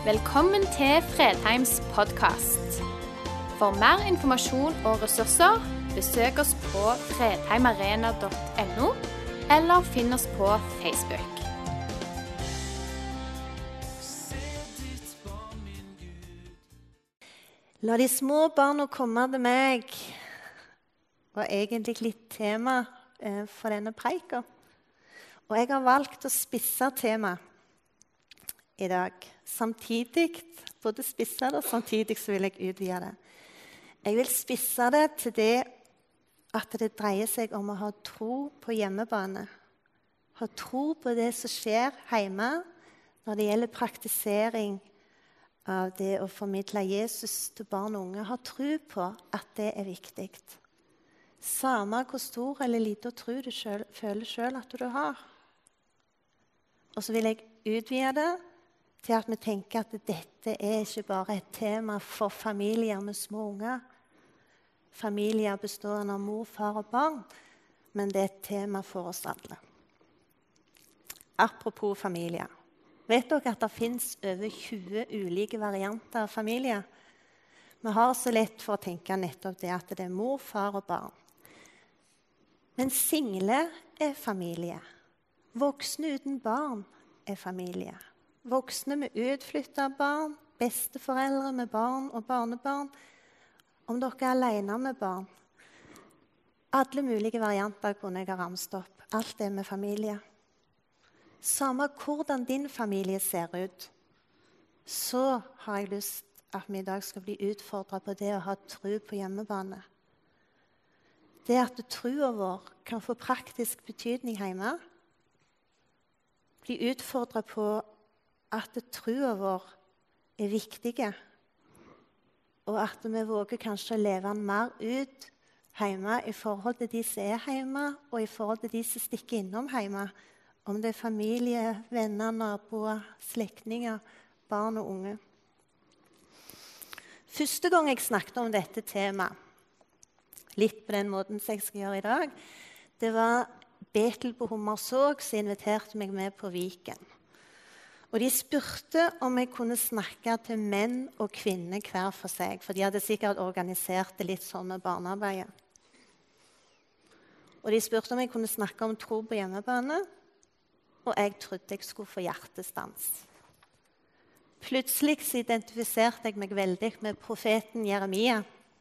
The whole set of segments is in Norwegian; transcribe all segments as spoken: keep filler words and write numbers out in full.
Velkommen til Fredheims podcast. For mer informasjon og ressurser, besøk oss på fredheimarena punktum no, eller finn oss på Facebook. La de små barna komme til meg, var egentlig litt tema eh, for denne preika. Og jeg har valgt å spisse tema i dag. Samtidig, både spisse det, og samtidig så vil jeg utvide det. Jeg vil spisse det til det at det dreier seg om å ha tro på hjemmebane. Ha tro på det som skjer hjemme når det gjelder praktisering av det å formidle Jesus til barn og unge. Ha tro på at det er viktig. Samme hvor stor eller liten tro du selv, føler selv at du har. Og så vil jeg utvide det til at vi tenker at dette er ikke bare et tema for familier med små unger. Familier bestående av mor, far og barn, men det er et tema for oss alle. Apropos familier. Vet dere at det finnes over tjue ulike varianter av familier? Vi har så lett for å tenke nettopp det at det er mor, far og barn. Men single er familie. Voksne uten barn er familie. Voksne med utflyttede barn, besteforeldre med barn og barnebarn. Om dere er alene med barn. Alle mulige varianter kunne jeg ha ramset opp. Alt det med familie. Samme hvordan din familie ser ut, så har jeg lyst at vi i dag skal bli utfordret på det å ha tro på hjemmebane. Det at troen vår kan få praktisk betydning hjemme. Bli utfordret på at troen vår er viktig, og at vi våger kanskje å leve den mer ut hjemme i forhold til de som er hjemme, og i forhold til de som stikker innom hjemme, om det er familie, venner, naboer, slektninger, barn og unge. Første gang jeg snakket om dette temaet, litt på den måten som jeg skal gjøre i dag, det var Betel på Hommersåk som inviterte meg med på Viken. Og de spurte om jeg kunne snakke til menn og kvinner hver for seg, for de hadde sikkert organisert det litt sånn med barnearbeidet. Og de spurte om jeg kunne snakke om tro på hjemmebane, og jeg trodde jeg skulle få hjertestans. Plutselig så identifiserte jeg meg veldig med profeten Jeremia,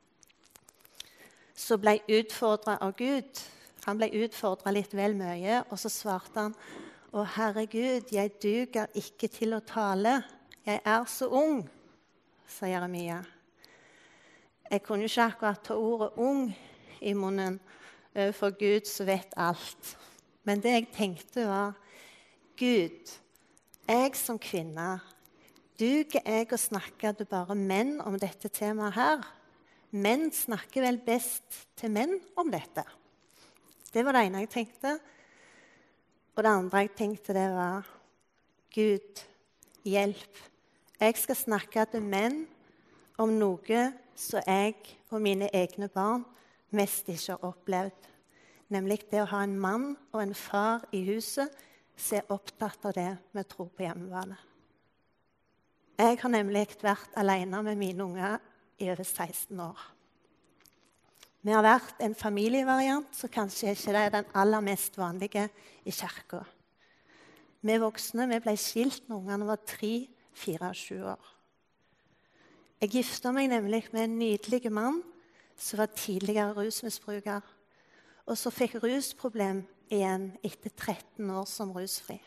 som ble utfordret av Gud. Han ble utfordret litt vel mye, og så svarte han: «Å, Herregud, jeg duger ikke til å tale. Jeg er så ung», sa Jeremia. Jeg kunne ikke akkurat ta ordet ung i munnen for Gud som vet alt. Men det jeg tenkte var: Gud, jeg som kvinne, duger jeg å snakke til bare menn om dette temaet her? Menn snakker vel best til menn om dette. Det var det ene jeg tenkte. Og det andre jeg tenkte det var: Gud, hjelp. Jeg skal snakke til menn om noe som jeg og mine egne barn mest ikke har opplevd. Nemlig det å ha en mann og en far i huset som er opptatt av det med tro på hjemmebane. Jeg har nemlig vært alene med mine unger i over seksten år. Vi har vært en familievariant, så kanskje ikke det er den aller mest vanlige i kirka. Vi voksne vi ble skilt når ungene var tre, fire og sju år. Jeg giftet meg nemlig med en nydelig mann som var tidligere rusmisbruker, og så fikk rusproblem igjen etter tretten år som rusfri.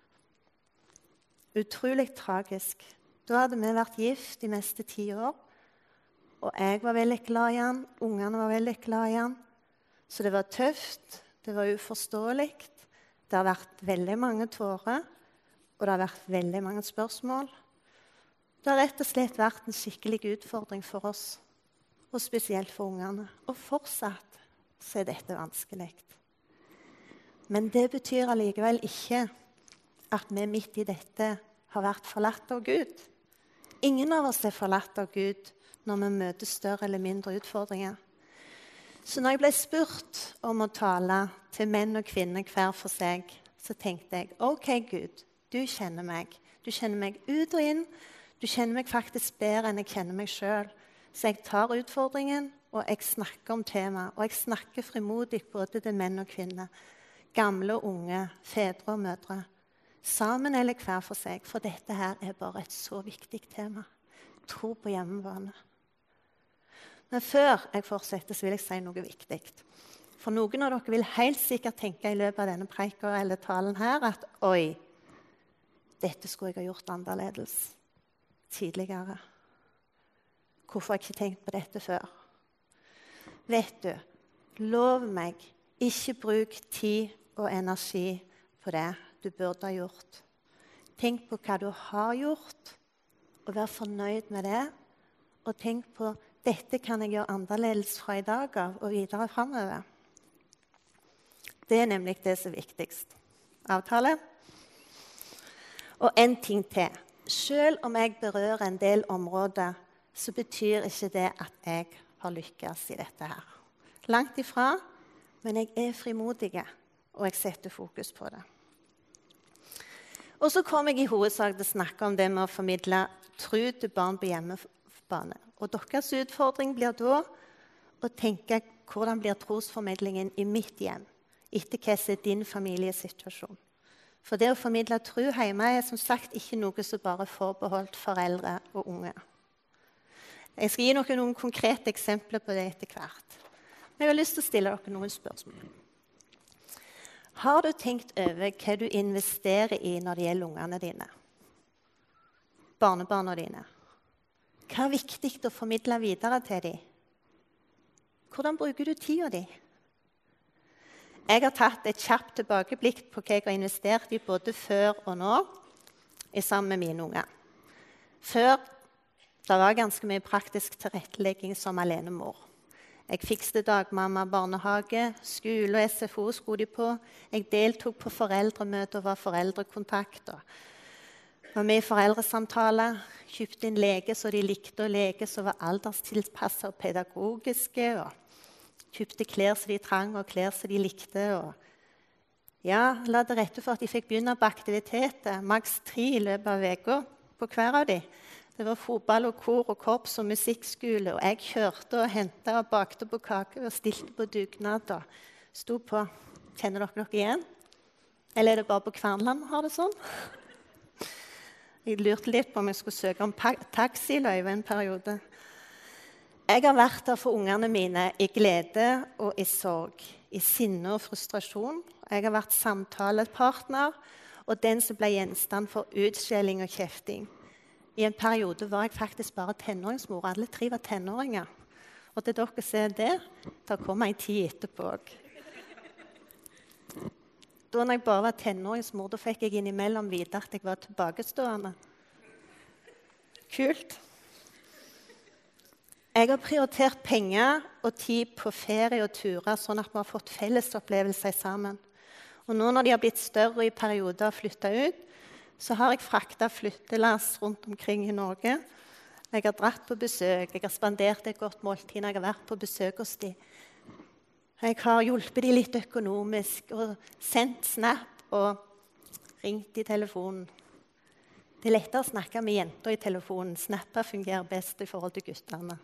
Utrolig tragisk. Da hadde vi vært gift de meste ti år, og jeg var veldig glad i han, ungene var veldig glad i han. Så det var tøft, det var uforståelig. Det har vært veldig mange tårer, og det har vært veldig mange spørsmål. Det har rett og slett vært en skikkelig utfordring for oss, og spesielt for ungene. Og fortsatt så er dette vanskelig. Men det betyr allikevel ikke at vi midt i dette har vært forlatt av Gud. Ingen av oss er forlatt av Gud når vi møter større eller mindre utfordringer. Så når jeg ble spurt om å tale til menn og kvinner hver for seg, så tenkte jeg: ok, Gud, du kjenner meg. Du kjenner meg ut og inn. Du kjenner meg faktisk bedre enn jeg kjenner meg selv. Så jeg tar utfordringen, og jeg snakker om temaet. Og jeg snakker frimodig både til menn og kvinner. Gamle og unge, fedre og mødre. Sammen eller hver for seg, for dette her er bare et så viktig tema. Tro på hjemmebane. Men før jeg fortsetter, så vil jeg si noe viktig. For noen av dere vil helt sikkert tenke i løpet av denne preika eller talen her at oi, dette skulle jeg ha gjort annerledes tidligere. Hvorfor har jeg ikke tenkt på dette før? Vet du, lov meg, ikke bruk tid og energi på det du burde ha gjort. Tenk på hva du har gjort, og vær fornøyd med det. Og tenk på, dette kan jeg gjøre annerledes fra i dag av og videre fremover. Det er nemlig det som er viktigst. Avtale? Og en ting til. Selv om jeg berører en del områder, så betyr ikke det at jeg har lykkes i dette her. Langt ifra, men jeg er frimodig, og jeg setter fokus på det. Og så kommer jeg i hovedsak til å snakke om det med å formidle tro til barn på hjemmebane. Og deres utfordring blir da å tenke hvordan blir trosformidlingen i mitt hjem, etter hva som er din familiesituasjon. For det å formidle tro hjemme er som sagt ikke noe som bare er forbeholdt foreldre og unge. Jeg skal gi dere noen konkrete eksempler på det etter hvert. Men jeg har lyst til å stille dere noen spørsmål. Har du tenkt over hva du investerer i når det gjelder ungene dine? Barnebarna dine? Hva er viktig å formidle videre til dem? Hvordan bruker du tida di? Jeg har tatt et kjapt tilbakeblikk på hva jeg har investert i både før og nå, i sammen med mine unger. Før det var ganske mye praktisk tilrettelegging som alenemor. Jeg fikste dagmamma, barnehage, skole og S F O skulle de på. Jeg deltok på foreldremøter og var foreldrekontakt. Var med i foreldresamtaler, kjøpte inn lege så de likte å leke, så var alderstilpasset og pedagogiske. Og kjøpte klær som de trang og klær som de likte. Og ja, la det rette for at de fikk begynne på aktiviteter, maks tre i løpet av veka på hver av de. Det var fotball og kor og korps og musikkskole, og jeg kjørte og hentet og bakte på kake og stilte på dugnad og sto på. Kjenner dere dere igjen? Eller er det bare på Kvernland vi har det sånn? Jeg lurte litt på om jeg skulle søke om taxiløyve en periode. Jeg har vært der for ungene mine i glede og i sorg, i sinne og frustrasjon. Jeg har vært samtalepartner og den som ble gjenstand for utskjelling og kjefting. I en periode var jeg faktisk bare tenåringsmor. Alle tre var tenåringer. Og til dere ser det, da kom jeg en tid etterpå. Da når jeg bare var tenåringsmor, da fikk jeg innimellom vite at jeg var tilbakestående. Kult. Jeg har prioritert penger og tid på ferie og turer, sånn at vi har fått fellesopplevelser sammen. Og nå når de har blitt større i perioder og flyttet ut, så har jeg fraktet flyttelass rundt omkring i Norge. Jeg har dratt på besøk, jeg har spandert et godt måltid når jeg har vært på besøk hos dem. Jeg har hjulpet dem litt økonomisk og sendt snap og ringt i telefonen. Det er lettere å snakke med jenter i telefonen. Snapper fungerer best i forhold til guttene.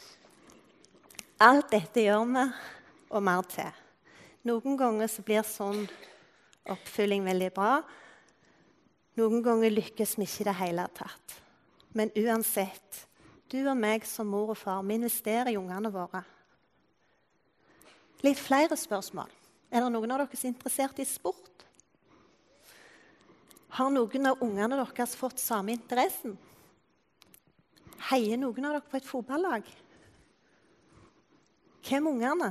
Alt dette gjør vi, og mer til. Noen ganger så blir sånn oppfylling veldig bra. Noen ganger lykkes vi ikke i det hele tatt. Men uansett, du og meg som mor og far, vi investerer i ungene våre. Litt flere spørsmål. Er det noen av dere som er interessert i sport? Har noen av ungene deres fått samme interessen? Heier noen av dere på et fotballag? Hvem er ungene?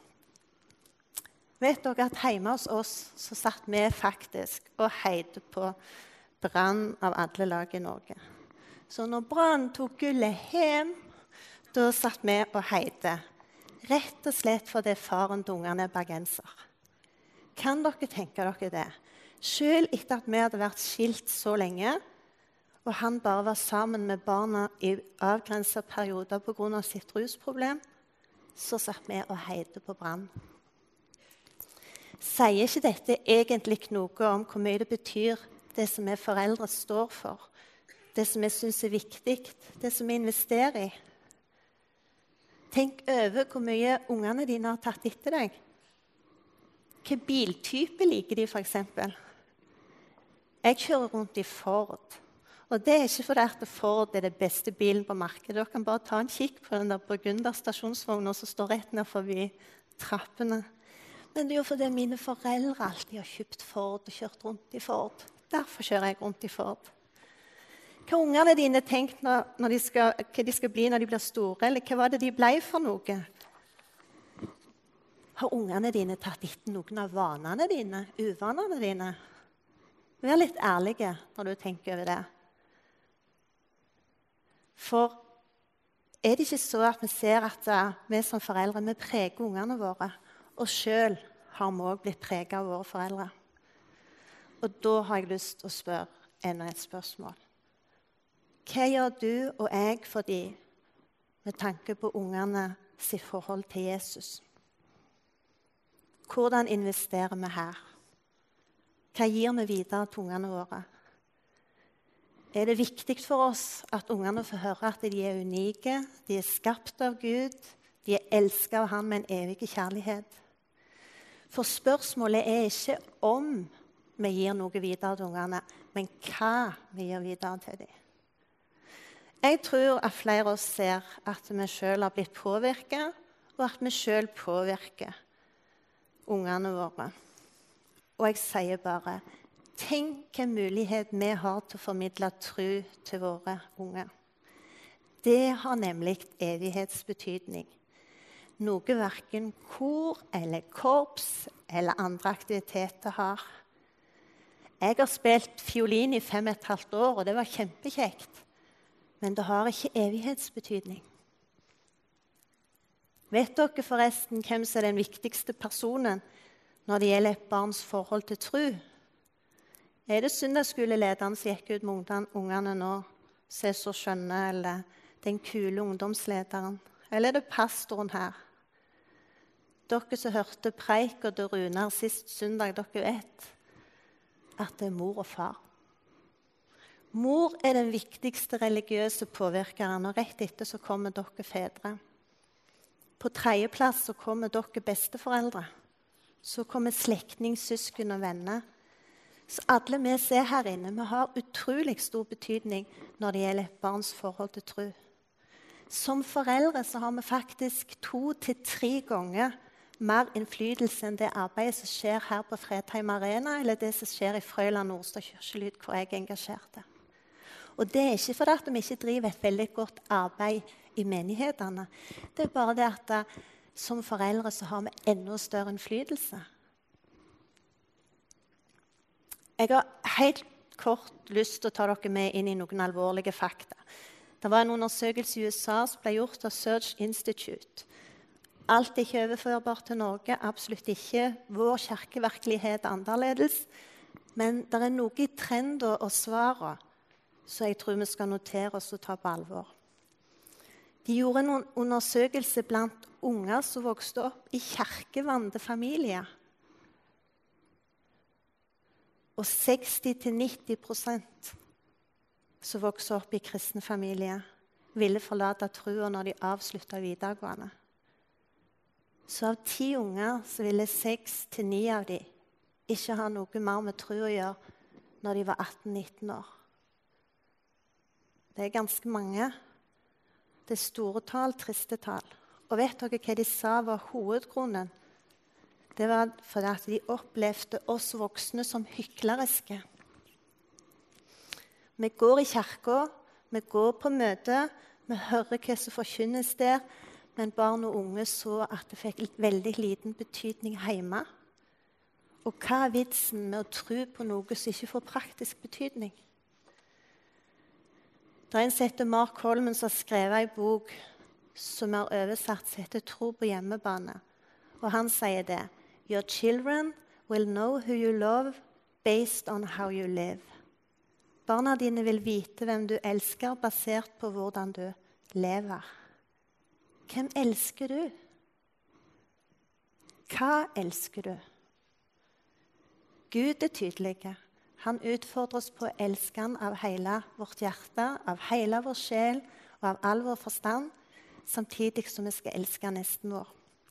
Vet dere at hjemme hos oss så satt vi faktisk og heide på Brann av alle lag i Norge. Så når Brann tok gullet hjem, da satt vi og heide. Rett og slett fordi faren til ungene er bergenser. Kan dere tenke dere det? Selv etter at vi hadde vært skilt så lenge, og han bare var sammen med barna i avgrenset perioder på grunn av sitt rusproblem, så satt vi og heide på Brann. Sier ikke dette egentlig noe om hvor mye det betyr det som vi foreldre står for? det som jeg synes er viktig, det som jeg investerer i. Tenk over hvor mye ungene dine har tatt etter deg. Hvilken biltype liker de, for eksempel? Jeg kjører rundt i Ford. Og det er ikke fordi at Ford er det beste bilen på markedet. Dere kan bare ta en kikk på den der Burgunder stasjonsvognen som står rett ned forbi trappene. Men det er jo fordi mine foreldre alltid har kjøpt Ford og kjørt rundt i Ford. Derfor kjører jeg rundt i Ford. Hva har ungene dine tenkt når, når de skal, hva de skal bli når de blir store, eller hva var det de ble for noe? Har ungene dine tatt etter noen av vanene dine, uvanene dine? Vær litt ærlige når du tenker over det. For er det ikke så at vi ser at vi som foreldre vi preger ungene våre, og selv har vi også blitt preget av våre foreldre? Og da har jeg lyst til å spørre enda et spørsmål. Hva gjør du og jeg for dem med tanke på ungene sitt forhold til Jesus? Hvordan investerer vi her? Hva gir vi videre til ungene våre? Er det viktig for oss at ungene får høre at de er unike, de er skapt av Gud, de er elsket av Han med en evig kjærlighet? For spørsmålet er ikke om vi gir noe videre til ungene, men hva vi gir videre til dem. Jeg tror at flere av oss ser at vi selv har blitt påvirket, og at vi selv påvirker ungene våre. Og jeg sier bare, tenk hvilken mulighet vi har til å formidle tro til våre unge. Det har nemlig evighetsbetydning. Noe hverken kor eller korps eller andre aktiviteter har. Jeg har spilt fiolin i fem og et halvt år, og det var kjempekjekt. Men det har ikke evighetsbetydning. Vet dere forresten hvem som er den viktigste personen når det gjelder et barns forhold til tro? Er det søndagsskolelederen som gikk ut med ungene nå, som er så skjønne, eller den kule ungdomslederen? Eller er det pastoren her? Dere som hørte preik og det Runar sist søndag, dere vet at det er mor og far. Mor er den viktigste religiøse påvirkeren, og rett etter så kommer dere fedre. På tredjeplass så kommer dere besteforeldre. Så kommer slektning, søsken og venner. Så alle vi ser her inne, vi har utrolig stor betydning når det gjelder et barns forhold til tro. Som foreldre så har vi faktisk to til tre ganger mer innflytelse enn det arbeidet som skjer her på Fredheim Arena, eller det som skjer i Frøyland Nordstad Kirkelyd, hvor jeg er engasjert. Og det er ikke fordi at vi ikke driver et veldig godt arbeid i menighetene. Det er bare det at uh, som foreldre så har vi enda større innflytelse. Jeg har helt kort lyst til å ta dere med inn i noen alvorlige fakta. Det var en undersøkelse i U S A som ble gjort av Search Institute. Alt er ikke overførbart til Norge, absolutt ikke. Vår kirkevirkelighet er annerledes. Men det er noe i trender og svarene så jeg tror vi skal notere oss og ta på alvor. De gjorde en undersøkelse blant unger som vokste opp i kirkevante familier. Og seksti til nitti prosent som vokste opp i kristne familier ville forlate troen når de avsluttet videregående. Så av ti unger så ville seks til ni av dem ikke ha noe mer med tro å gjøre når de var atten nitten år. Det er ganske mange. Det er store tall, triste tall. Og vet dere hva de sa var hovedgrunnen? Det var fordi at de opplevde oss voksne som hykleriske. Vi går i kirka, vi går på møte, vi hører hva som forkynnes der, men barn og unge så at det fikk veldig liten betydning hjemme. Og hva er vitsen med å tro på noe som ikke får praktisk betydning? Det er en som heter Mark Holman som har skrevet en bok som er oversatt som heter Tro på hjemmebane. Og han sier det. Your children will know who you love based on how you live. Barna dine vil vite hvem du elsker basert på hvordan du lever. Hvem elsker du? Hva elsker du? Gud er tydelig. Han utfordrer oss på å elske han av hele vårt hjerte, av hele vår sjel og av all vår forstand, samtidig som vi skal elske nesten vår.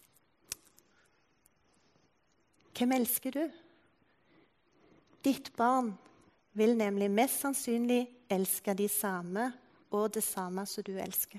Hvem elsker du? Ditt barn vil nemlig mest sannsynlig elske de samme og det samme som du elsker.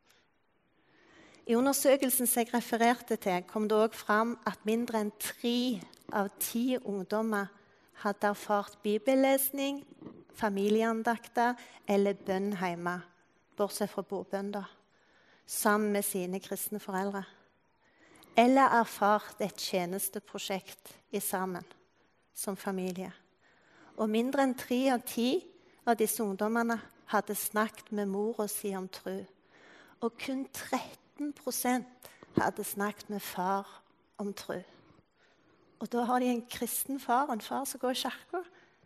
I undersøkelsen som jeg refererte til, kom det også fram at mindre enn tre av ti ungdommer hadde erfart bibellesning, familieandakter eller bønn hjemme, bortsett fra bordbønn, da, sammen med sine kristne foreldre. Eller erfart et tjenesteprosjekt i sammen, som familie. Og mindre enn tre av ti av disse ungdommene hadde snakket med mora si om tro. Og kun tretten prosent hadde snakket med far om tro. Og da har de en kristen far, en far som går i kirka.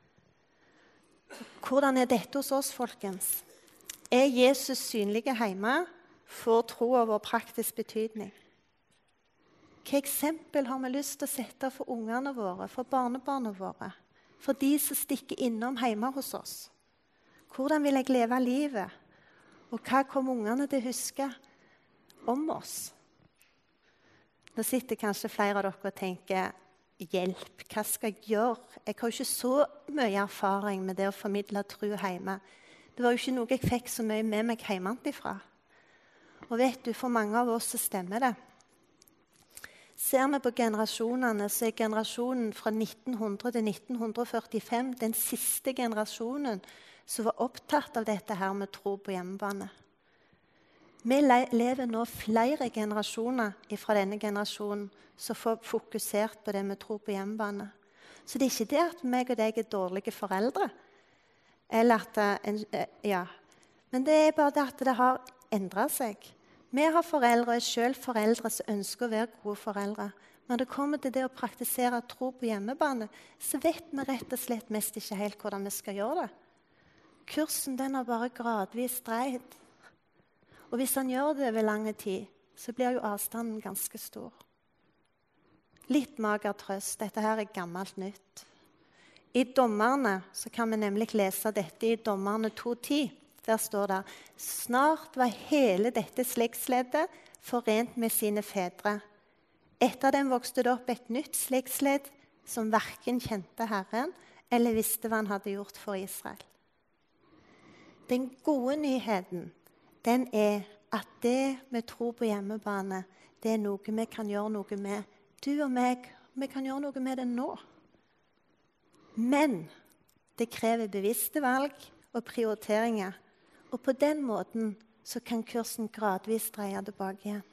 Hvordan er dette hos oss, folkens? Er Jesus synlig hjemme, får troa vår praktisk betydning? Hva eksempel har vi lyst til å sette for ungene våre, for barnebarna våre? For de som stikker innom hjemme hos oss? Hvordan vil jeg leve livet? Og hva kommer ungene til å huske om oss? Nå sitter kanskje flere av dere og tenker, hjelp, hva skal jeg gjøre? Jeg har jo ikke så mye erfaring med det å formidle tro hjemme. Det var jo ikke noe jeg fikk så mye med meg hjemmefra. Og vet du, for mange av oss så stemmer det. Ser vi på generasjonene, så er generasjonen fra nitten hundre til nitten førtifem den siste generasjonen som var opptatt av dette her med tro på hjemmebane. Vi lever nå flere generasjoner fra denne generasjonen som får fokusert på det med tro på hjemmebane. Så det er ikke det at meg og deg er dårlige foreldre. Eller at, ja. Men det er bare det at det har endret seg. Vi har foreldre og er selv foreldre som ønsker å være gode foreldre. Når det kommer til det å praktisere tro på hjemmebane, så vet vi rett og slett mest ikke helt hvordan vi skal gjøre det. Kursen den har bare gradvis dreid. Og hvis han gjør det over lang tid, så blir jo avstanden ganske stor. Litt mager trøst. Dette her er gammelt nytt. I Dommerne så kan vi nemlig lese dette i Dommerne to ti. Der står det, snart var hele dette slektsleddet forent med sine fedre. Etter dem vokste det opp et nytt slektsledd som hverken kjente Herren eller visste hva han hadde gjort for Israel. Den gode nyheten, den er at det med tro på hjemmebane, det er noe vi kan gjøre noe med. Du og meg, vi kan gjøre noe med det nå. Men det krever bevisste valg og prioriteringer. Og på den måten så kan kursen gradvis dreie tilbake igjen.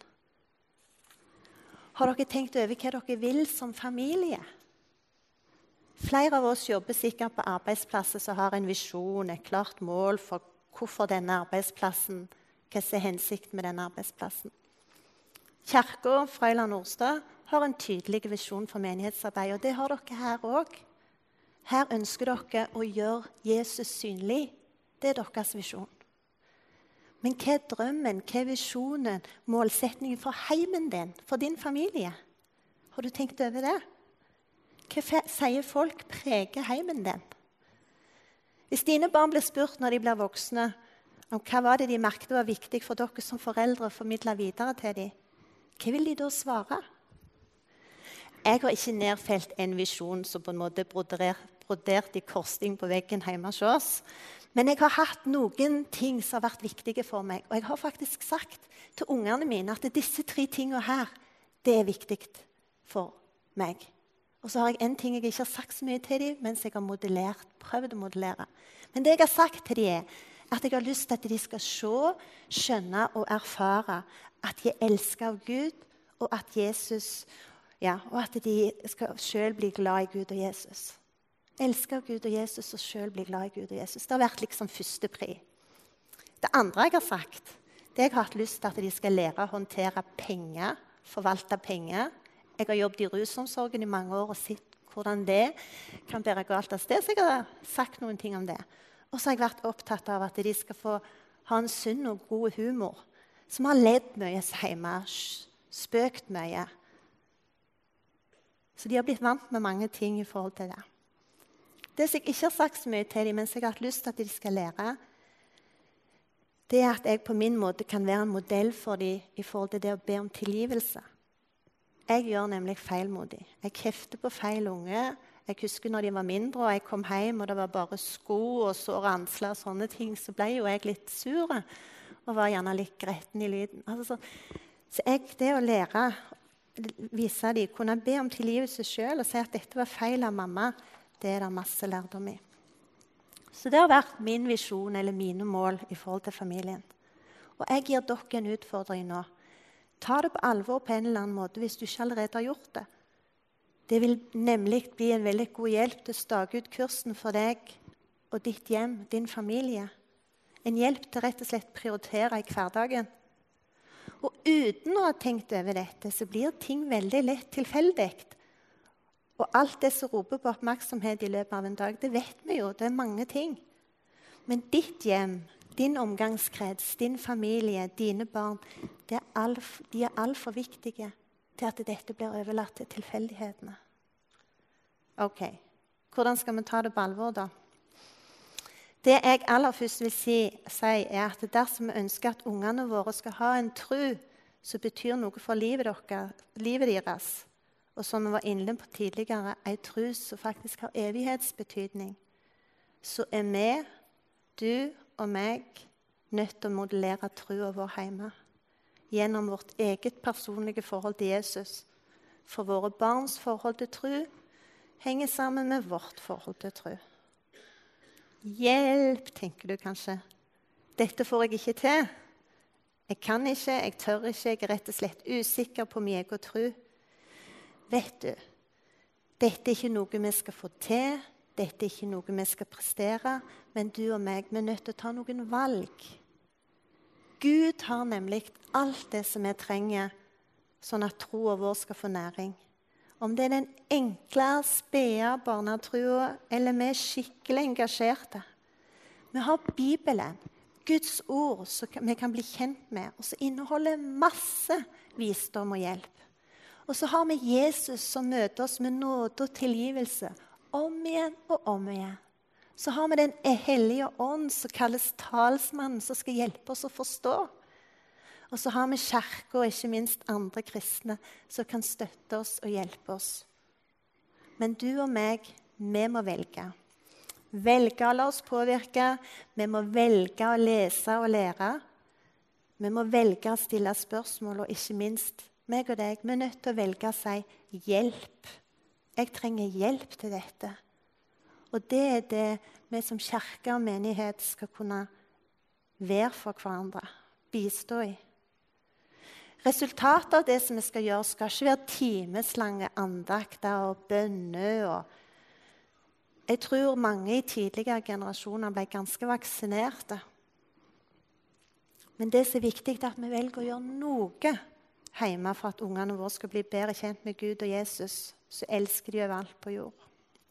Har dere tenkt over hva dere vil som familie? Flere av oss jobber sikkert på arbeidsplasser som har en visjon, et klart mål for hvorfor denne arbeidsplassen, hva som er hensikten med denne arbeidsplassen. Kirken Frøyland Nordstad har en tydelig visjon for menighetsarbeid, og det har dere her også. Her ønsker dere å gjøre Jesus synlig. Det er deres visjon. Men hva er drømmen, hva er visjonen, målsetningen for heimen din, for din familie? Har du tenkt over det? Hva sier folk preger heimen din? Hvis dine barn blir spurt når de blir voksne, om hva var det de merket var viktig for dere som foreldre å formidle videre til dem, hva vil de da svare? Jeg har ikke nedfelt en visjon som på en måte brodert i korsting på veggen hjemme hos oss. Men jeg har hatt noen ting som har vært viktige for meg. Og jeg har faktisk sagt til ungene mine at disse tre tingene her, det er viktig for meg. Og så har jeg en ting jeg ikke har sagt så mye til dem, mens jeg har modellert, prøvd å modellere. Men det jeg har sagt til dem er at jeg har lyst til at de skal se, skjønne og erfare at de er elsket av Gud, og at Jesus, ja, og at de skal selv bli glad i Gud og Jesus. Elsker Gud og Jesus og selv bli glad i Gud og Jesus. Det har vært liksom første pri. Det andre jeg har sagt, det jeg har hatt lyst til at de skal lære å håndtere penger, forvalte penger. Jeg har jobbet i rusomsorgen i mange år og sett hvordan det kan bære galt av sted, så jeg har sagt noen ting om det. Og så har jeg vært opptatt av at de skal få ha en sunn og god humor, som har ledd mye hjemme, spøkt mye. Så de har blitt vant med mange ting i forhold til det. Det som jeg ikke har sagt så mye til dem, men som jeg har hatt lyst til at de skal lære, det er at jeg på min måte kan være en modell for dem i forhold til det å be om tilgivelse. Jeg gjør nemlig feil mot dem. Jeg kjefter på feil unge. Jeg husker når de var mindre, og jeg kom hjem, og det var bare sko og sår ansler og sånne ting, så ble jo jeg litt sur og var gjerne litt gretten i lyden. Altså, så, så jeg, det å lære, vise dem, kunne be om tilgivelse selv og si at dette var feil av mamma, det er det masse lærdom i. Så det har vært min visjon eller mine mål i forhold til familien. Og jeg gir dere en utfordring nå. Ta det på alvor på en eller annen måte hvis du ikke allerede har gjort det. Det vil nemlig bli en veldig god hjelp til å stake ut kursen for deg og ditt hjem, din familie. En hjelp til rett og slett prioritere i hverdagen. Og uten å ha tenkt over dette, så blir ting veldig lett tilfeldig. Og alt det som roper på oppmerksomhet i løpet av en dag, det vet vi jo, det er mange ting. Men ditt hjem, din omgangskrets, din familie, dine barn, det er alt, de er alt for viktige til at dette blir overlatt til tilfeldighetene. Ok, hvordan skal vi ta det på alvor da? Det jeg aller først vil si, si er at dersom vi ønsker at ungene våre skal ha en tro som betyr noe for livet, dere, livet deres, og som vi var inne på tidligere, en tro som faktisk har evighetsbetydning, så er vi, du og meg, nødt til å modellere troen vår hjemme gjennom vårt eget personlige forhold til Jesus. For våre barns forhold til tro henger sammen med vårt forhold til tro. Hjelp, tenker du kanskje. Dette får jeg ikke til. Jeg kan ikke, jeg tør ikke, jeg er rett og slett usikker på min egen tro. Vet du, dette er ikke noe vi skal få til, dette er ikke noe vi skal prestere, men du og meg, vi er nødt til å ta noen valg. Gud har nemlig alt det som vi trenger, sånn at troen vår skal få næring. Om det er den enkle, spede barnetroen, eller vi er skikkelig engasjerte. Vi har Bibelen, Guds ord, som vi kan bli kjent med, og som inneholder masse visdom og hjelp. Og så har vi Jesus som møter oss med nåde og tilgivelse, om igjen og om igjen. Så har vi den hellige ånd som kalles talsmannen, som skal hjelpe oss å forstå. Og så har vi kirke og ikke minst andre kristne som kan støtte oss og hjelpe oss. Men du og meg, vi må velge. Velge å la oss påvirke. Vi må velge å lese og lære. Vi må velge å stille spørsmål, og ikke minst meg og deg, vi er nødt til å velge å si hjelp. Jeg trenger hjelp til dette. Og det er det vi som kirke og menighet skal kunne være for hverandre, bistå i. Resultatet av det som vi skal gjøre, skal ikke være timeslange andakter og bønner. Og jeg tror mange i tidligere generasjoner ble ganske vaksinerte. Men det som er viktig, er at vi velger å gjøre noe hjemme for at ungene våre skal bli bedre kjent med Gud og Jesus, så elsker de over alt på jord.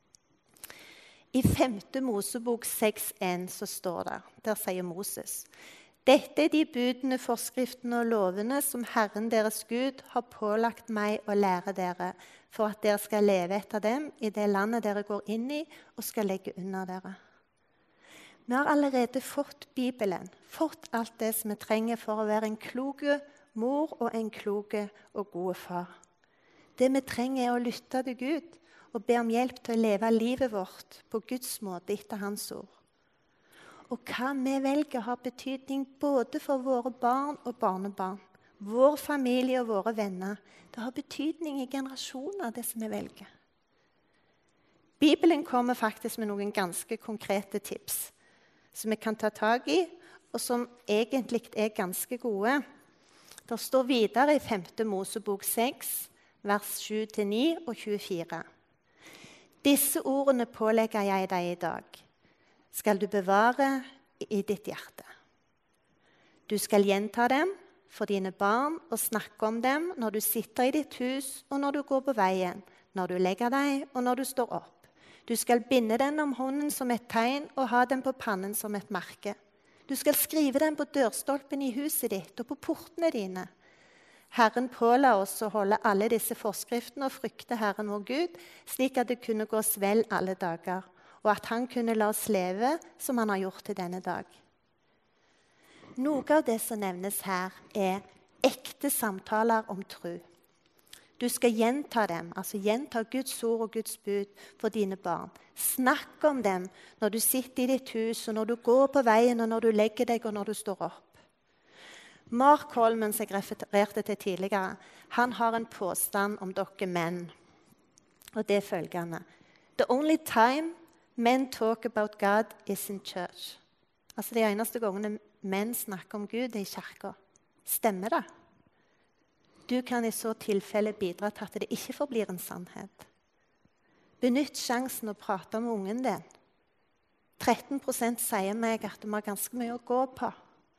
I femte Mosebok seks en så står det, der sier Moses: Dette er de budene, forskriftene og lovene som Herren deres Gud har pålagt meg å lære dere, for at dere skal leve etter dem i det landet dere går inn i og skal legge under dere. Vi har allerede fått Bibelen, fått alt det som vi trenger for å være en kloke mor og en kloke og gode far. Det vi trenger er å lytte til Gud og be om hjelp til å leve livet vårt på Guds måte etter hans ord. Og hva vi velger har betydning både for våre barn og barnebarn, vår familie og våre venner. Det har betydning i generasjoner, det som vi velger. Bibelen kommer faktisk med noen ganske konkrete tips som vi kan ta tag i, og som egentlig er ganske gode. Det står videre i femte Mosebok seks, vers sju til ni og tjuefire. Disse ordene pålegger jeg deg i dag, skal du bevare i ditt hjerte. Du skal gjenta dem for dine barn og snakke om dem når du sitter i ditt hus og når du går på veien, når du legger deg og når du står opp. Du skal binde den om hånden som et tegn og ha den på pannen som et merke. Du skal skrive den på dørstolpen i huset ditt og på portene dine. Herren påla oss å holde alle disse forskriftene og frykte Herren vår Gud, slik at det kunne gås vel alle dager. og at han kunne la oss leve som han har gjort til denne dag. Noe av det som nevnes her er ekte samtaler om tro. Du skal gjenta dem, altså gjenta Guds ord og Guds bud for dine barn. Snakk om dem når du sitter i ditt hus, og når du går på veien, og når du legger deg, og når du står opp. Mark Holman, som jeg refererte til tidligere, han har en påstand om dere menn. Og det er følgende. The only time men talk about God is in church. Altså de eneste gangene menn snakker om Gud er i kirka. Stemmer det? Du kan i så tilfelle bidra til at det ikke forblir en sannhet. Benytt sjansen å prate med ungen din. tretten prosent sier meg at de har ganske mye å gå på.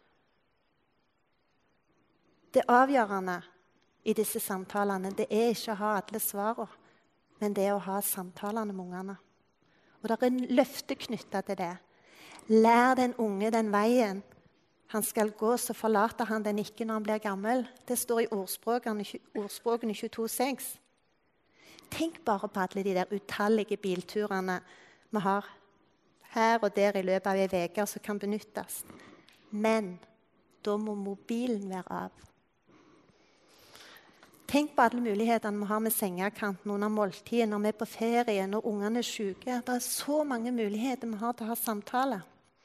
Det avgjørende i disse samtalene, det er ikke å ha alle svarene, men det er å ha samtalene med ungene. Og det er en løfte knyttet til det. Lær den unge den veien han skal gå, så forlater han den ikke når han blir gammel. Det står i ordspråkene, ordspråkene tjueto seks. Tenk bare på alle de der utallige bilturene vi har her og der i løpet av en uke som kan benyttes. Men da må mobilen være av. Tenk på alle mulighetene vi har med sengekanten under måltiden, når vi er på ferie, når ungene er syke. Det er så mange muligheter vi har til å ha samtaler.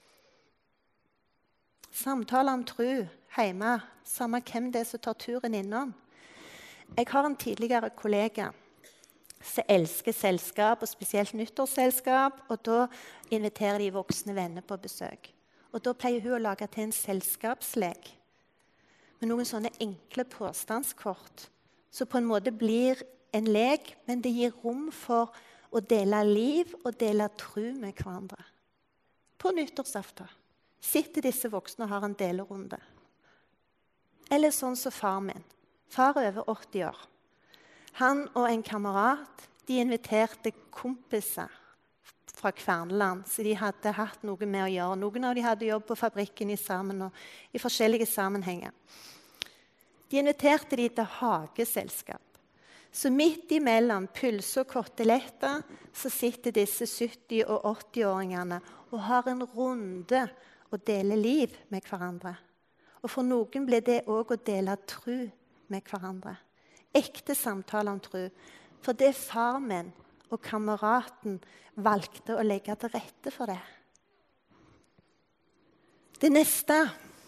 Samtaler om tro hjemme, samme hvem det er som tar turen innom. Jeg har en tidligere kollega som elsker selskap, og spesielt nyttårsselskap, og da inviterer de voksne venner på besøk. Og da pleier hun å lage til en selskapslek med noen sånne enkle påstandskort, som på en måte blir en lek, men det gir rom for å dele liv og dele tro med hverandre. På nyttårsaften sitter disse voksne og har en delerunde. Eller sånn som far min. Far er over åtti år. Han og en kamerat, de inviterte kompiser fra Kverneland, så de hadde hatt noe med å gjøre. Noen av de hadde jobb på fabrikken i sammen og i forskjellige sammenhenger. De inviterte de til hageselskap. Så midt imellom pølse og koteletter så sitter disse sytti- og åtti-åringene og har en runde og deler liv med hverandre. Og for noen ble det også å dele tro med hverandre. Ekte samtaler om tro. For det far min og kameraten valgte å legge til rette for det. Det neste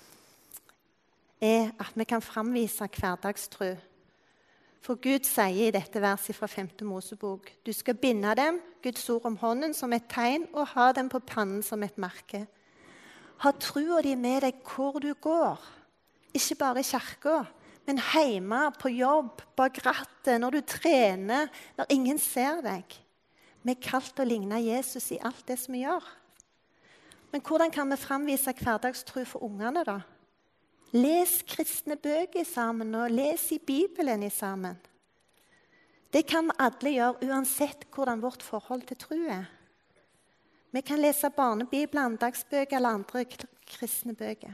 er at vi kan framvise hverdagstro. For Gud sier i dette verset fra femte Mosebok, du skal binde dem, Guds ord om hånden, som et tegn, og ha dem på pannen som et merke. Ha troa di med deg hvor du går. Ikke bare i kirka, men hjemme, på jobb, bak rattet, når du trener, når ingen ser deg. Vi er kalt til å ligne Jesus i alt det som vi gjør. Men hvordan kan vi framvise hverdagstro for ungene da? Les kristne bøker sammen, og les i Bibelen i sammen. Det kan vi alle gjøre, uansett hvordan vårt forhold til tro er. Vi kan lese barnebibler, andagsbøker eller andre kristne bøker.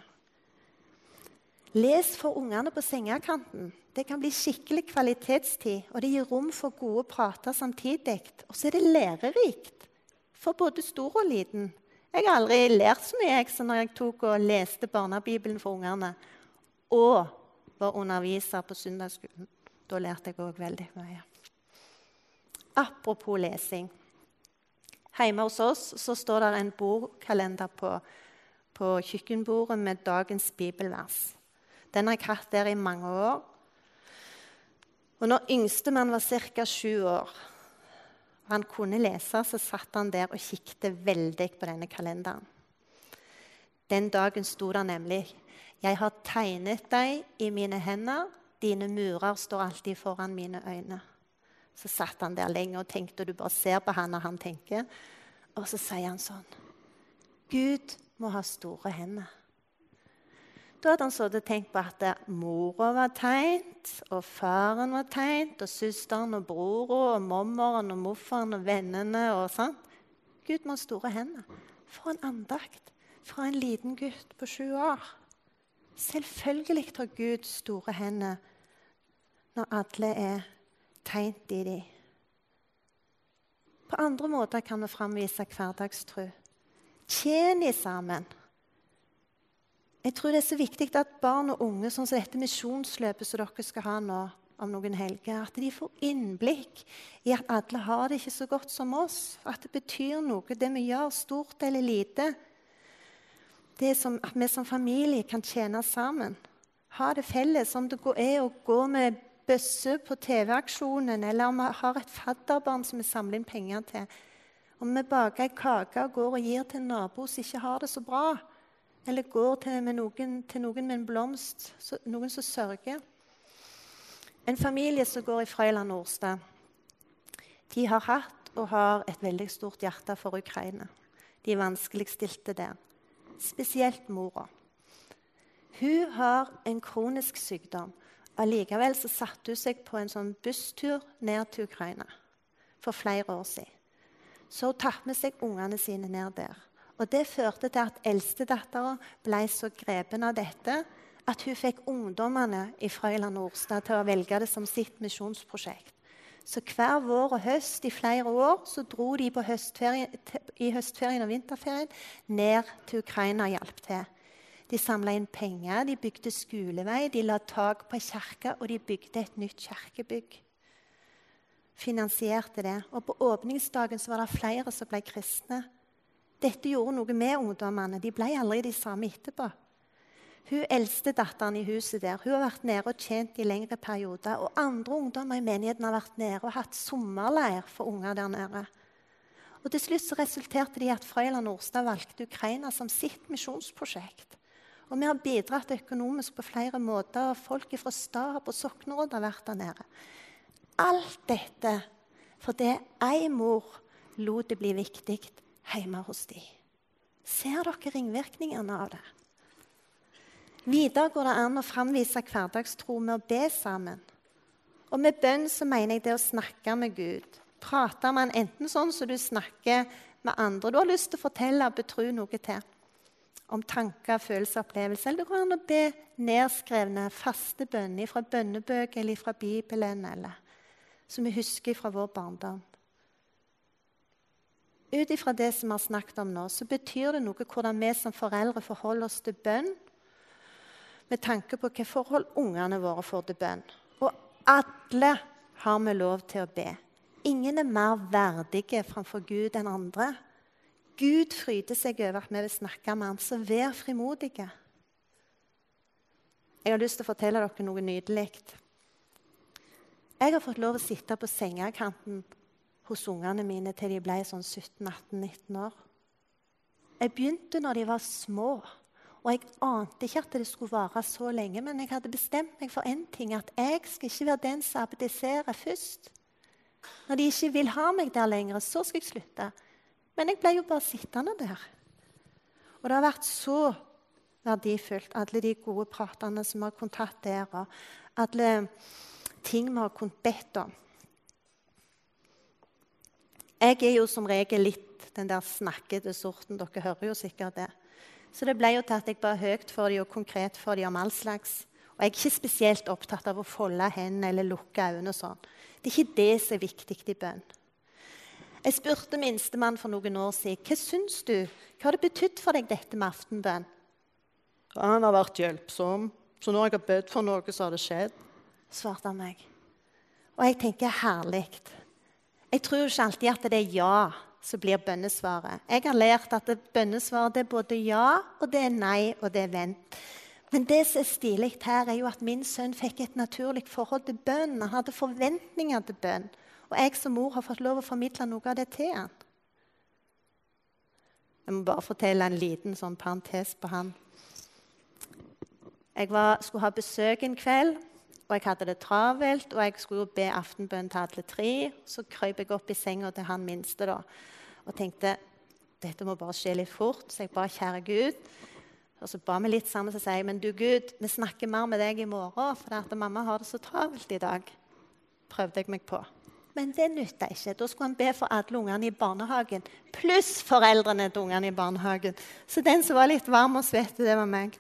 Les for ungene på sengekanten. Det kan bli skikkelig kvalitetstid, og det gir rom for gode prater samtidig. Og så er det lærerikt for både stor og liten. Jeg har aldri lært så mye jeg, så når jeg tok og leste barnebibelen for ungene, og var underviser på søndagsskolen. Da lærte jeg også veldig mye. Apropos lesing. Hjemme hos oss så står det en bordkalender på, på kjøkkenbordet med dagens bibelvers. Den har jeg hatt der i mange år. Og når yngstemann var cirka sju år, og han kunne lese, så satt han der og kikket veldig på denne kalenderen. Den dagen sto det nemlig, jeg har tegnet deg i mine hender, dine murer står alltid foran mine øyne. Så satt han der lenge og tenkte, og du bare ser på han når han tenker. Og så sier han sånn, Gud må ha store hender. Da hadde han så tenkt på at mora var tegnet, og faren var tegnet, og søsteren og broren, og mommeren og mofferen og vennene og sånn. Gud må ha store hender. For en andakt fra en liten gutt på sju år. Selvfølgelig har Gud store hender når alle er tegnet i dem. På andre måter kan vi framvise hverdagstro. Tjen i sammen. Jeg tror det er så viktig at barn og unge, sånn som dette misjonsløpet som dere skal ha nå om noen helger, at de får innblikk i at alle har det ikke så godt som oss. At det betyr noe, det vi gjør, stort eller lite. Det er som at vi som familie kan tjene sammen. Ha det felles, om det er å gå med bøsse på T V-aksjonen, eller om vi har et fadderbarn som vi samler inn penger til. Om vi baker en kake og går og gir til en nabo som ikke har det så bra, eller går til, med noen, til noen med en blomst, så, noen som sørger. En familie som går i Frøyland Nordstad, de har hatt og har et veldig stort hjerte for Ukraina. De er vanskeligstilte der. Spesielt mora. Hun har en kronisk sykdom. Allikevel så satte hun seg på en sånn busstur ned til Ukraina for flere år siden. Så hun tatt med seg ungene sine ned der. Og det førte til at eldstedatteren ble så grepen av dette at hun fikk ungdommene i Frøyland Nordstad til å velge det som sitt misjonsprosjekt. Så hver vår og høst i flere år så dro de på høstferien, i høstferien og vinterferien ned til Ukraina og hjalp til. De samlet inn penger, de bygde skolevei, de la tak på kirke, og de bygde et nytt kirkebygg. Finansierte det. Og på åpningsdagen så var det flere som ble kristne. Dette gjorde noe med ungdommene. De ble aldri de samme etterpå. Hun eldste datteren i huset der, hun har vært nede og tjent i lengre perioder, og andre ungdommer i menigheten har vært nede og hatt sommerleir for unger der nede. Og til slutt så resulterte det i at Frøyland Nordstad valgte Ukraina som sitt misjonsprosjekt. Og vi har bidratt økonomisk på flere måter, og folk fra stab og sokneråd har vært der nede. Alt dette fordi ei mor lot det bli viktig hjemme hos de. Ser dere ringvirkningene av det? Videre går det an å framvise hverdagstro med å be sammen. Og med bønn så mener jeg det å snakke med Gud. Prate med han enten sånn som du snakker med andre. Du har lyst til å fortelle og betro noe til. Om tanker, følelser, opplevelser. Eller det går an å be nedskrevne, faste bønner fra bønnebøker eller fra Bibelen, eller som vi husker fra vår barndom. Ut ifra det som vi har snakket om nå, så betyr det noe hvordan vi som foreldre forholder oss til bønn, med tanke på hvilke forhold ungene våre får til bønn. Og alle har vi lov til å be. Ingen er mer verdige framfor Gud enn andre. Gud fryder seg over at vi vil snakke med ham, så vær frimodige. Jeg har lyst til å fortelle dere noe nydelig. Jeg har fått lov å sitte på sengekanten hos ungene mine til de ble sånn sytten, atten, nitten år. Jeg begynte når de var små. Og jeg ante ikke at det skulle vare så lenge, men jeg hadde bestemt meg for en ting, at jeg skal ikke være den som abdiserer først. Når de ikke vil ha meg der lenger, så skal jeg slutte. Men jeg ble jo bare sittende der. Og det har vært så verdifullt, alle de gode pratene som har kontakt der, og alle ting vi har kunnet bedt om. Jeg er jo som regel litt den der snakkete sorten, dere hører jo sikkert det. Så det ble jo til at jeg bare høyt for dem og konkret for dem om all slags. Og jeg er ikke spesielt opptatt av å folde hendene eller lukke øynene og sånn. Det er ikke det som er viktig i bønn. Jeg spurte minstemann for noen år siden, hva syns du? Hva har det betydd for deg dette med aftenbønn? Ja, han har vært hjelpsom, så når jeg har bedt for noe, så har det skjedd, svarte han meg. Og jeg tenker herlig. Jeg tror ikke alltid at det er ja, så blir bønnesvaret. Jeg har lært at bønnesvaret er både ja, og det er nei, og det er vent. Men det som er stilig her, er jo at min sønn fikk et naturlig forhold til bønn. Han hadde forventninger til bønn. Og jeg som mor har fått lov å formidle noe av det til han. Jeg må bare fortelle en liten sånn parentes på han. Jeg var, skulle ha besøk en kveld, og jeg hadde det travelt, og jeg skulle be aftenbønn til alle tre. Så krøp jeg opp i senga til han minste da, og tenkte, dette må bare skje litt fort. Så jeg ba, kjære Gud. Og så ba vi litt sammen, så sier jeg, men du Gud, vi snakker mer med deg i morgen, for at mamma har det så travelt i dag. Prøvde jeg meg på. Men det nyttet ikke. Da skulle han be for alle ungene i barnehagen, pluss foreldrene til ungene i barnehagen. Så den som var litt varm og svett, det var meg.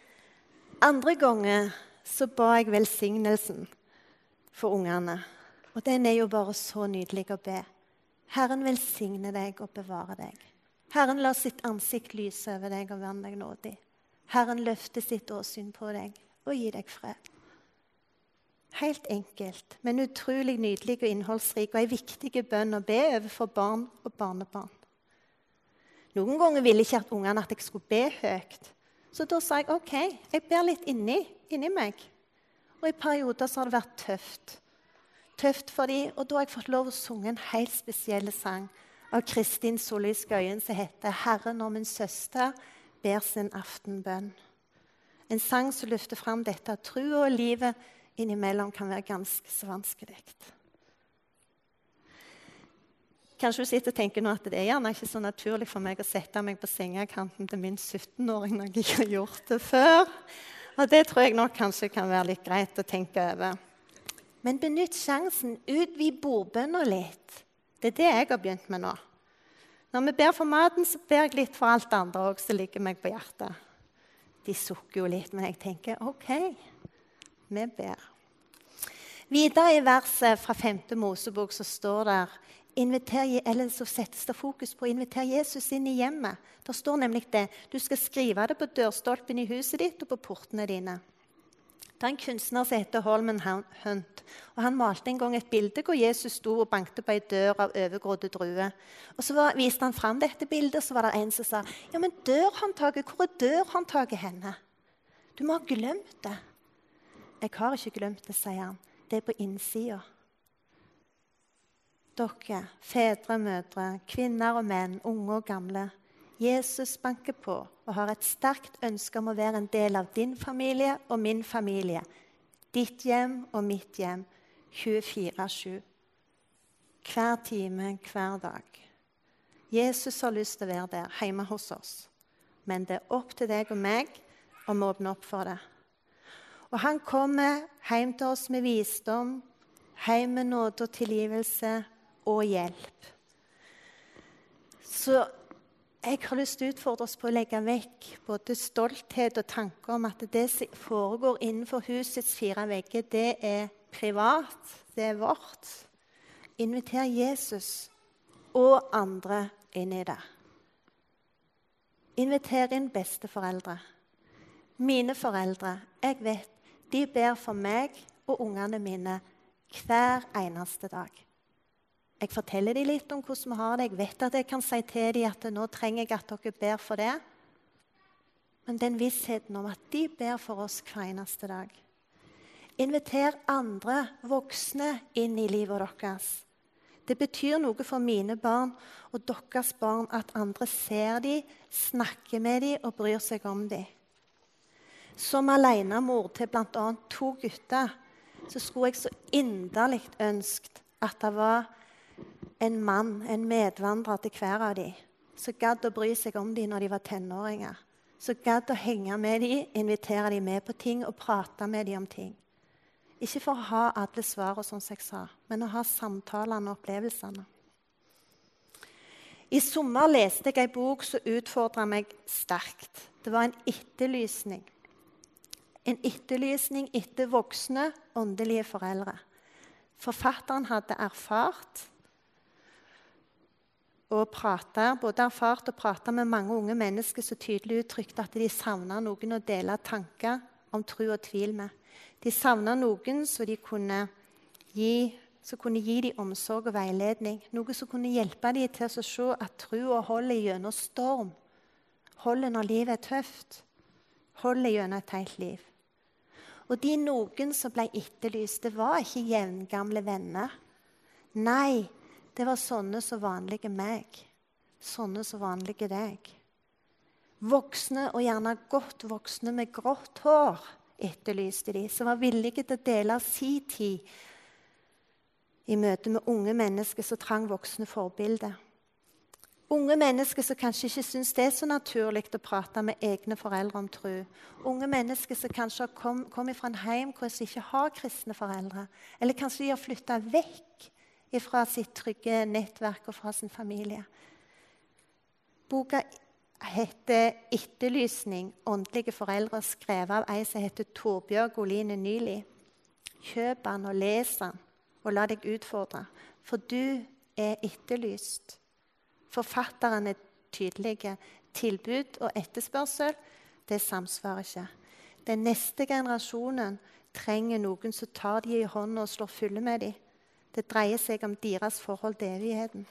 Andre ganger så ba jeg velsignelsen for ungene. Og den er jo bare så nydelig å be. Herren velsigne deg og bevare deg. Herren la sitt ansikt lyse over deg og være deg nådig. Herren løfte sitt åsyn på deg og gi deg fred. Helt enkelt, men utrolig nydelig og innholdsrik, og en viktig bønn å be overfor barn og barnebarn. Noen ganger ville ikke at ungene at jeg skulle be høyt. Så da sa jeg, ok, jeg ber litt inni, inni meg. Og i perioder så har det vært tøft. Tøft for dem, og da har jeg fått lov å synge en helt spesiell sang av Kristin Solli Skøyen som heter «Herren og min søster ber sin aftenbønn». En sang som løfter frem dette at tro og livet innimellom kan være ganske så vanskelig. Kanskje du sitter og tenker nå at det er gjerne ikke så naturlig for meg å sette meg på sengekanten til min sytten-åring når jeg ikke har gjort det før. Og det tror jeg nok kanskje kan være litt greit å tenke over. Men benytt sjansen, utvid bordbønner litt. Det er det jeg har begynt med nå. Når vi ber for maten, så ber jeg litt for alt det andre også, som ligger meg på hjertet. De sukker jo litt, men jeg tenker, ok, vi ber. Videre i verset fra femte Mosebok så står det, inviter, eller så settes det fokus på å invitere Jesus inn i hjemmet. Det står nemlig det, du skal skrive det på dørstolpen i huset ditt og på portene dine. Det er en kunstner som heter Holman Hunt, og han malte en gang et bilde hvor Jesus sto og bankte på en dør av overgrådde druer. Og så var, viste han frem dette bildet, så var det en som sa, ja, men dørhåndtaket, hvor er dørhåndtaket henne? Du må ha glemt det. Jeg har ikke glemt det, sier han. Det er på innsiden. Dere, fedre, mødre, kvinner og menn, unge og gamle, Jesus banker på og har et sterkt ønske om å være en del av din familie og min familie. Ditt hjem og mitt hjem, tjuefire sju. Hver time, hver dag. Jesus har lyst til å være der, hjemme hos oss. Men det er opp til deg og meg om å åpne opp for det. Og han kommer hjem til oss med visdom, hjem med nåde og tilgivelse og hjelp. Så jeg har lyst til å utfordre oss på å legge vekk både stolthet og tanker om at det som foregår innenfor husets fire vegger, det er privat, det er vårt. Inviter Jesus og andre inn i det. Inviter inn besteforeldre. Mine foreldre, jeg vet, de ber for meg og ungene mine hver eneste dag. Jeg forteller dem litt om hvordan vi har det. Jeg vet at jeg kan si til dem at nå trenger jeg at dere ber for det. Men den vissheten om at de ber for oss hver eneste dag. Inviter andre voksne inn i livet deres. Det betyr noe for mine barn og deres barn at andre ser dem, snakker med dem og bryr seg om dem. Som alenemor til blant annet to gutter, så skulle jeg så inderlig ønsket at det var en mann, en medvandrer til hver av dem, som gadd å bry seg om dem når de var tenåringer. Så gadd å henge med dem, invitere dem med på ting og prate med dem om ting. Ikke for å ha alle svar og sånn som jeg sa, men å ha samtalene og opplevelsene. I sommer leste jeg en bok som utfordret meg sterkt. Det var en etterlysning. En etterlysning etter voksne, åndelige foreldre. Forfatteren hadde erfart og pratet, både erfart og pratet med mange unge mennesker som tydelig uttrykte at de savnet noen å dele tanker om tro og tvil med. De savnet noen som de kunne gi, som kunne gi dem omsorg og veiledning. Noe som kunne hjelpe dem til å se at troen holder gjennom storm. Holder når livet er tøft. Holder gjennom et helt liv. Og de noen som ble etterlyst, det var ikke jevngamle venner. Nei, det var sånne som vanlige meg. Sånne som vanlige deg. Voksne, og gjerne godt voksne med grått hår, etterlyste de, som var villige til å dele sin tid i møte med unge mennesker som trang voksne forbilder. Unge mennesker som kanskje ikke synes det er så naturlig å prate med egne foreldre om tro. Unge mennesker som kanskje har kom, kommet fra en hjem hvor de ikke har kristne foreldre. Eller kanskje de har flyttet vekk fra sitt trygge nettverk og fra sin familie. Boka heter «Etterlysning, åndelige foreldre», skrevet av ei som heter Torbjørg Oline Nyli. Kjøp den og les den, og la deg utfordre. For du er etterlyst. Forfatteren er tydelige. Tilbud og etterspørsel, det samsvarer ikke. Den neste generasjonen trenger noen som tar de i hånden og slår fulle med dem. Det dreier seg om deres forhold til evigheten.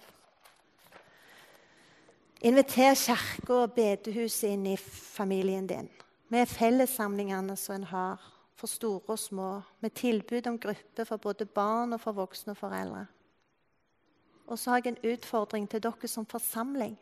Inviter kirke og bedehuset inn i familien din. Med fellessamlingene som en har, for store og små. Med tilbud om grupper for både barn og for voksne og foreldre. Og så har jeg en utfordring til dere som forsamling.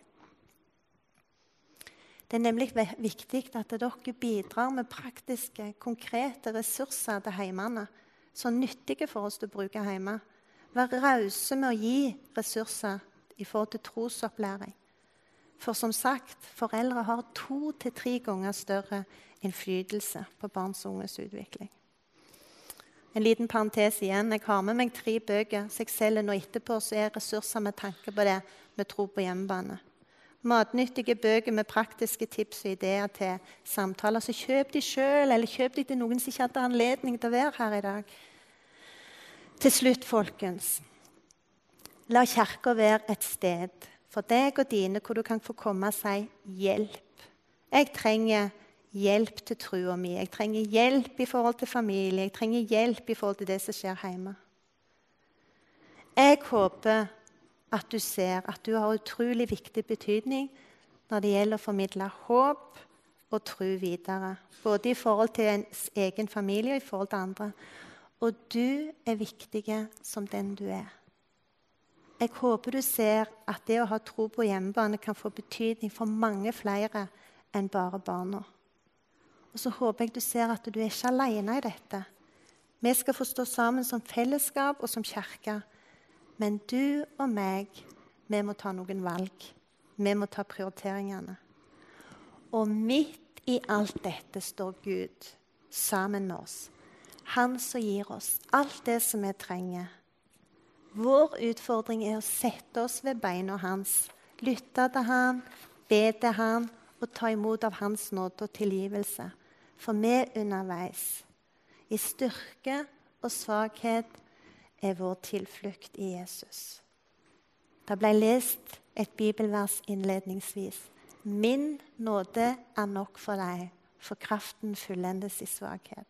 Det er nemlig viktig at dere bidrar med praktiske, konkrete ressurser til heimene, så nyttige for oss til å bruke hjemme. Vær rause med å gi ressurser i forhold til trosopplæring. For som sagt, foreldre har to til tre ganger større innflytelse på barns og unges utvikling. En liten parentes igjen. Jeg har med meg tre bøker, så jeg selger nå etterpå, så er ressurser med tanke på det med tro på hjemmebane. Matnyttige bøker med praktiske tips og ideer til samtaler. Så kjøp de selv, eller kjøp de til noen som ikke hadde anledning til å være her i dag. Til slutt, folkens. La kirka være et sted for deg og dine hvor du kan få komme og si hjelp. Jeg trenger hjelp til trua mi. Jeg trenger hjelp i forhold til familie. Jeg trenger hjelp i forhold til det som skjer hjemme. Jeg håper at du ser at du har utrolig viktig betydning når det gjelder å formidle håp og tro videre. Både i forhold til ens egen familie og i forhold til andre. Og du er viktig som den du er. Jeg håper du ser at det å ha tro på hjemmebane kan få betydning for mange flere enn bare barna. Og så håper jeg du ser at du er ikke alene i dette. Vi skal få stå sammen som fellesskap og som kirke. Men du og meg, vi må ta noen valg. Vi må ta prioriteringene. Og midt i alt dette står Gud sammen med oss. Han som gir oss alt det som vi trenger. Vår utfordring er å sette oss ved beina hans, lytte til han, be til han og ta imot av hans nåde og tilgivelse. For vi underveis. I styrke og svakhet er vår tilflukt i Jesus. Det ble lest et bibelvers innledningsvis. Min nåde er nok for deg, for kraften fullendes i svakhet.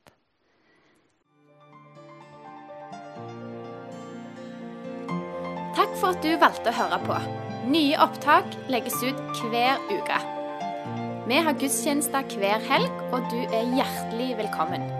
Takk for at du valgte å høre på. Nye opptak legges ut hver uke. Vi har gudstjenester hver helg, og du er hjertelig velkommen.